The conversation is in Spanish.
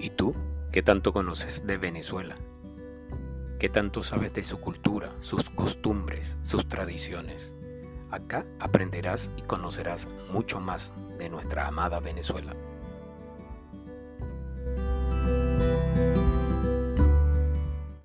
¿Y tú? ¿Qué tanto conoces de Venezuela? ¿Qué tanto sabes de su cultura, sus costumbres, sus tradiciones? Acá aprenderás y conocerás mucho más de nuestra amada Venezuela.